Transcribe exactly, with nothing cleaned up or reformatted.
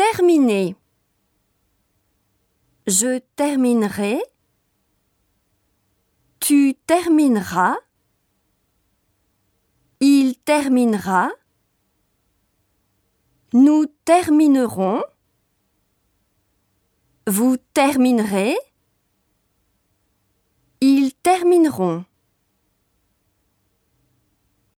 terminer. Je terminerai. Tu termineras. Il terminera. Nous terminerons. Vous terminerez. Ils termineront.